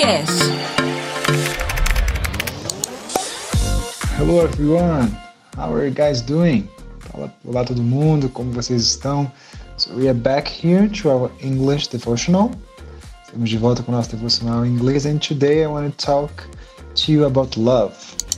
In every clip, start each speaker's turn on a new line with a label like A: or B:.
A: Cast.
B: Hello everyone, how are you guys doing? Olá todo mundo, como vocês estão? So we are back here to our English devotional. Estamos de volta com o nosso devocional em inglês, and today I want to talk to you about love.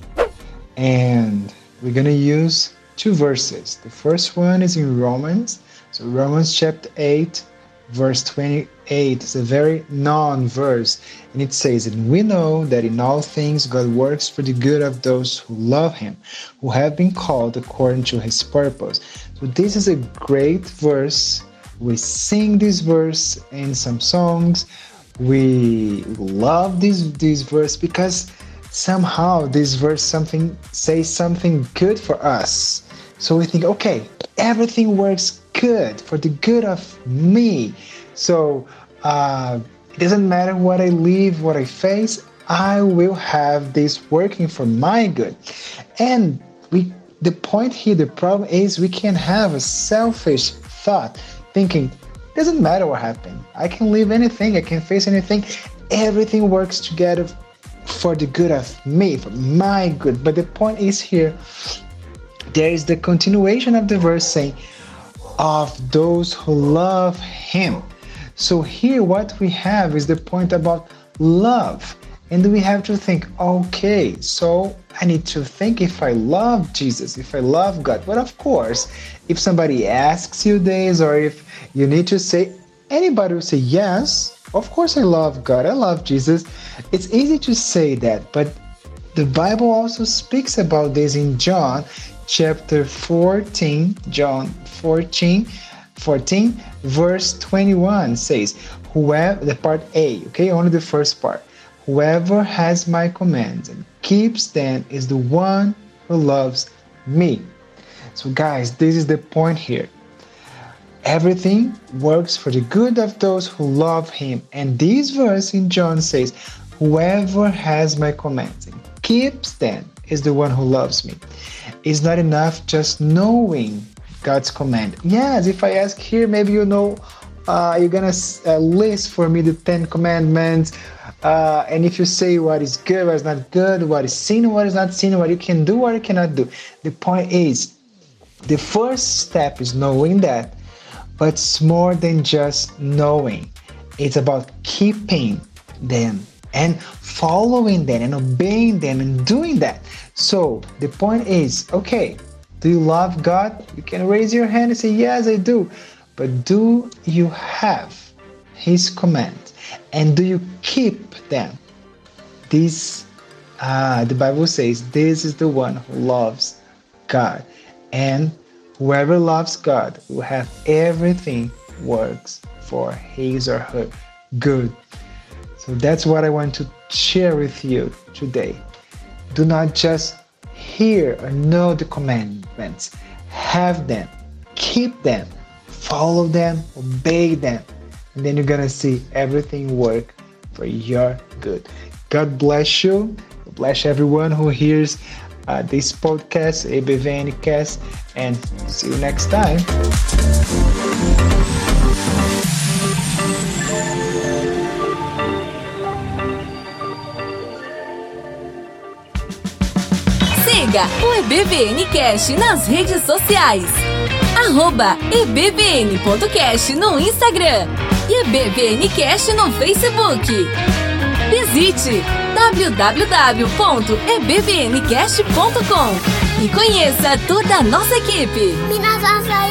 B: And we're going to use two verses. The first one is in Romans. So Romans chapter 8, verse 28 is a very known verse, and it says, "And we know that in all things God works for the good of those who love Him, who have been called according to His purpose." So this is a great verse. We sing this verse in some songs. We love this verse because somehow this verse says something good for us. So we think, okay, everything works good for the good of me. So it doesn't matter what I live, what I face, I will have this working for my good. And the point here, the problem is we can have a selfish thought, thinking, it doesn't matter what happened. I can live anything, I can face anything. Everything works together for the good of me, for my good. But the point is here, there is the continuation of the verse saying, of those who love Him. So here what we have is the point about love. And we have to think, okay, so I need to think if I love Jesus, if I love God. But of course, if somebody asks you this, or if you need to say, anybody will say, yes, of course I love God, I love Jesus. It's easy to say that, but the Bible also speaks about this in John chapter 14, John 14, verse 21 says, whoever, the part A, okay, only the first part, whoever has my commands and keeps them is the one who loves me. So guys, this is the point here. Everything works for the good of those who love Him. And this verse in John says, whoever has my commands and keeps them is the one who loves me. It's not enough just knowing God's command. Yes, if I ask here, maybe you know, you're gonna list for me the 10 commandments, and if you say what is good, what is not good, what is sin, what is not sin, what you can do, what you cannot do. The point is, the first step is knowing that, but it's more than just knowing. It's about keeping them and following them and obeying them and doing that. So the point is, okay, do you love God? You can raise your hand and say, yes, I do. But do you have His commands? And do you keep them? This, the Bible says, this is the one who loves God. And whoever loves God will have everything works for his or her good. So that's what I want to share with you today. Do not just hear or know the commandments. Have them, keep them, follow them, obey them. And then you're going to see everything work for your good. God bless you. God bless everyone who hears this podcast, EBVN Cast, and see you next time.
A: Siga o EBVN Cast nas redes sociais. @ebvn.cast no Instagram e EBVN Cast no Facebook. Visite www.ebvncast.com e conheça toda a nossa equipe.